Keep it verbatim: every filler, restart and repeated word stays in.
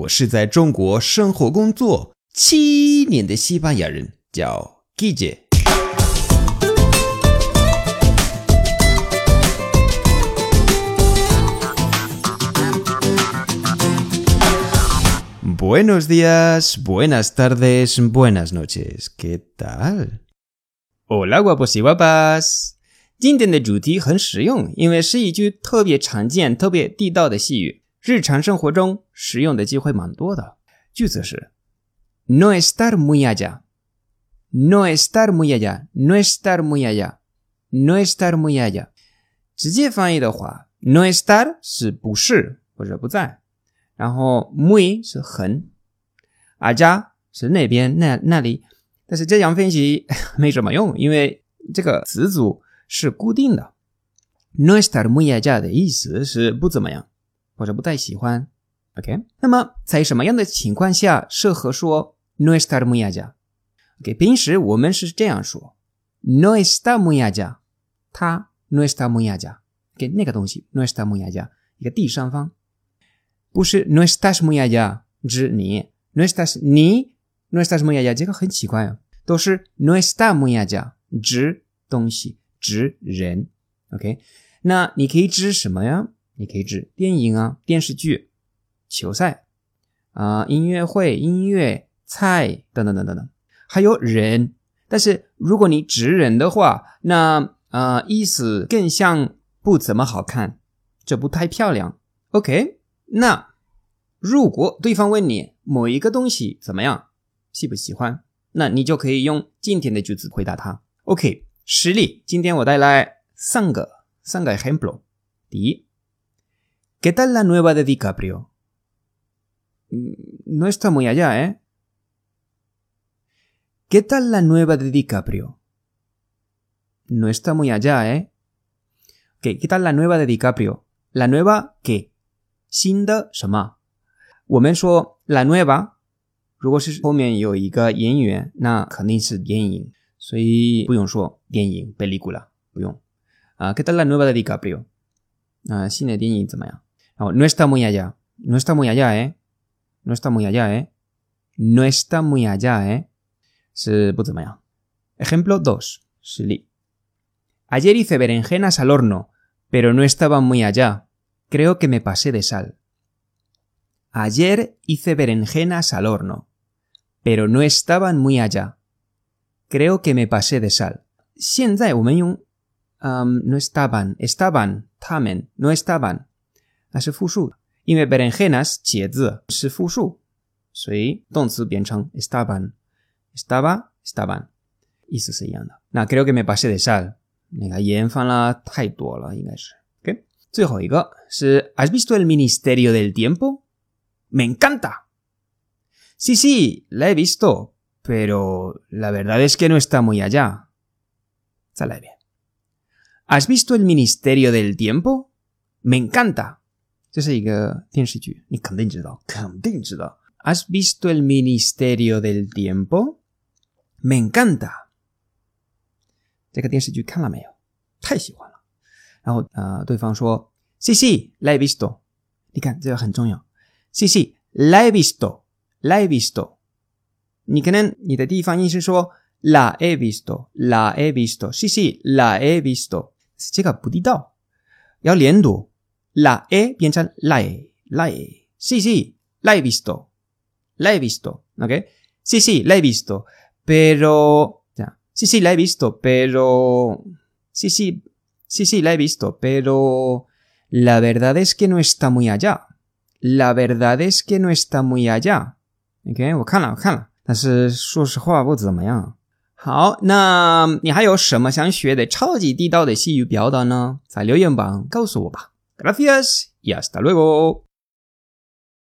我是在中国生活工作七年的西班牙人，叫 Guille。Buenos días, buenas tardes, buenas noches. ¿Qué tal? Hola, guapos y guapas. 今天的主题很实用，因为是一句特别常见、特别地道的西语，日常生活中使用的机会蛮多的。句子是 No estar muy allá. No estar muy allá. No estar muy allá. No estar muy allá. 直接翻译的话 No estar 是不是或者不在，然后 muy 是很， allá 是那边那那里，但是这样分析没什么用，因为这个词组是固定的。 No estar muy allá 的意思是不怎么样或者不太喜欢。 OK， 那么在什么样的情况下适合说 No estar muy allá？ OK， 平时我们是这样说 No está muy allá， 它 No está muy allá， OK， 那个东西 No está muy allá， 一个第三方，不是 No estás muy allá 指你 No estás 你 No estás muy allá， 这个很奇怪哦，都是 No está muy allá 指东西指人。 OK， 那你可以指什么呀？你可以指电影啊、电视剧、球赛啊、呃、音乐会、音乐、菜等等等等等，还有人。但是如果你指人的话，那呃意思更像不怎么好看，这不太漂亮。 OK， 那如果对方问你某一个东西怎么样，喜不喜欢，那你就可以用今天的句子回答他。 OK， 实例，今天我带来三个三个 ejemplo。 第一， ¿Qué tal la nueva de DiCaprio? No está muy allá, ¿eh? ¿Qué tal la nueva de DiCaprio? No está muy allá, ¿eh? Okay, ¿qué tal la nueva de DiCaprio? La nueva, ¿qué? 新的什么？我们说 la nueva， 如果是后面有一个演员，那肯定是电影，所以不用说电影 película， 不用啊。¿Qué tal la nueva de DiCaprio？ 啊，新的电影怎么样？然后 no está muy allá, no está muy allá, ¿eh? No está muy allá, ¿eh? No está muy allá, ¿eh? 是不怎么样。 Ejemplo dos， 实例。 Ayer hice berenjenas al horno, pero no estaban muy allá. Creo que me pasé de sal. Ayer hice berenjenas al horno, pero no estaban muy allá. Creo que me pasé de sal. 现在我们用Um, no estaban, estaban, 他们 no estaban， 那是复数，因为 berenjenas 茄子是复数，所以动词变成 estaban， estaba, estaban， 意思是一样的。那 creo que me pasé de sal， 那个盐放了太多了，应该是。 OK， 最后一个是 ¿Has visto el Ministerio del Tiempo? Me encanta. Sí, sí, la he visto, pero la verdad es que no está muy allá. 再来一遍。¿Has visto el Ministerio del Tiempo? Me encanta. 这是一个电视剧，你肯定知道，肯定知道。¿Has visto el Ministerio del Tiempo? Me encanta. 这个电视剧看了没有？太喜欢了。然后呃，对方说 Sí, sí, la he visto. 你看这个很重要。Sí, sí, la he visto. La he visto. 你可能你的地方音是说 La he visto, la he visto. Sí, sí, la he visto. 这个不地道，要连读 la e 变成 la e, la e. Sí, sí, la he visto, la he visto. ¿Ok? Sí, sí, la he visto, pero... Sí, sí, la he visto, pero... Sí, sí, sí, sí, la he visto, pero... La verdad es que no está muy allá. La verdad es que no está muy allá. OK， 我看了，我看了，但是说实话不怎么样。好，那你还有什么想学的超级地道的西语表达呢？在留言板告诉我吧。Gracias y hasta luego.